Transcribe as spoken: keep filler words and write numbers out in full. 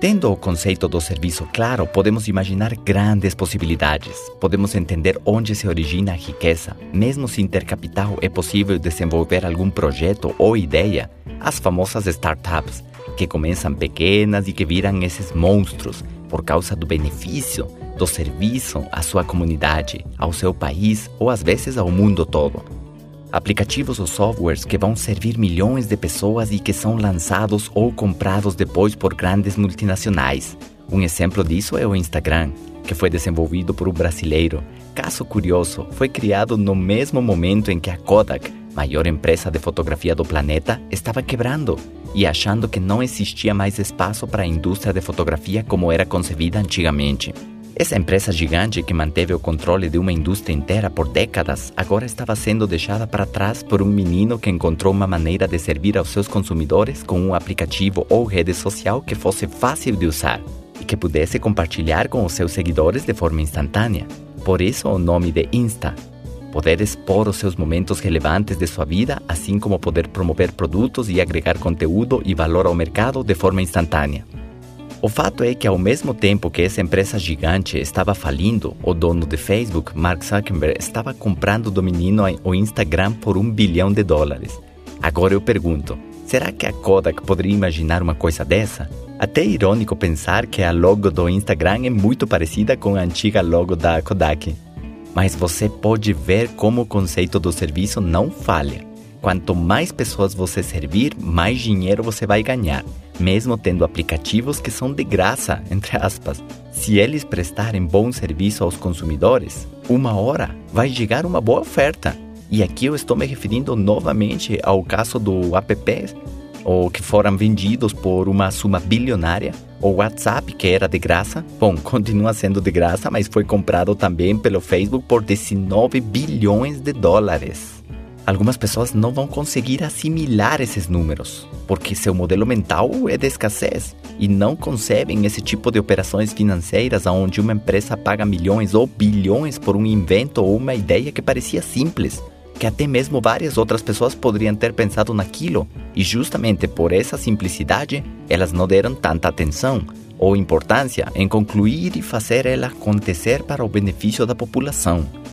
Tendo o conceito do serviço claro, podemos imaginar grandes possibilidades. Podemos entender onde se origina a riqueza. Mesmo sem ter capital, é possível desenvolver algum projeto ou ideia. As famosas startups, que começam pequenas e que viram esses monstros por causa do benefício, do serviço à sua comunidade, ao seu país ou às vezes ao mundo todo. Aplicativos ou softwares que vão servir milhões de pessoas e que são lançados ou comprados depois por grandes multinacionais. Um exemplo disso é o Instagram, que foi desenvolvido por um brasileiro. Caso curioso, foi criado no mesmo momento em que a Kodak, maior empresa de fotografia do planeta, estava quebrando e achando que não existia mais espaço para a indústria de fotografia como era concebida antigamente. Essa empresa gigante que manteve o controle de uma indústria inteira por décadas, agora estava sendo deixada para trás por um menino que encontrou uma maneira de servir aos seus consumidores com um aplicativo ou rede social que fosse fácil de usar e que pudesse compartilhar com os seus seguidores de forma instantânea. Por isso o nome de Insta. Poder expor os seus momentos relevantes de sua vida, assim como poder promover produtos e agregar conteúdo e valor ao mercado de forma instantânea. O fato é que, ao mesmo tempo que essa empresa gigante estava falindo, o dono de Facebook, Mark Zuckerberg, estava comprando do menino o Instagram por um bilhão de dólares. Agora eu pergunto, será que a Kodak poderia imaginar uma coisa dessa? Até é irônico pensar que a logo do Instagram é muito parecida com a antiga logo da Kodak. Mas você pode ver como o conceito do serviço não falha. Quanto mais pessoas você servir, mais dinheiro você vai ganhar, mesmo tendo aplicativos que são de graça, entre aspas. Se eles prestarem bom serviço aos consumidores, uma hora vai chegar uma boa oferta. E aqui eu estou me referindo novamente ao caso do app, ou que foram vendidos por uma suma bilionária, o WhatsApp, que era de graça, bom, continua sendo de graça, mas foi comprado também pelo Facebook por dezenove bilhões de dólares. Algumas pessoas não vão conseguir assimilar esses números, porque seu modelo mental é de escassez e não concebem esse tipo de operações financeiras onde uma empresa paga milhões ou bilhões por um invento ou uma ideia que parecia simples, que até mesmo várias outras pessoas poderiam ter pensado naquilo, e justamente por essa simplicidade, elas não deram tanta atenção ou importância em concluir e fazer ela acontecer para o benefício da população.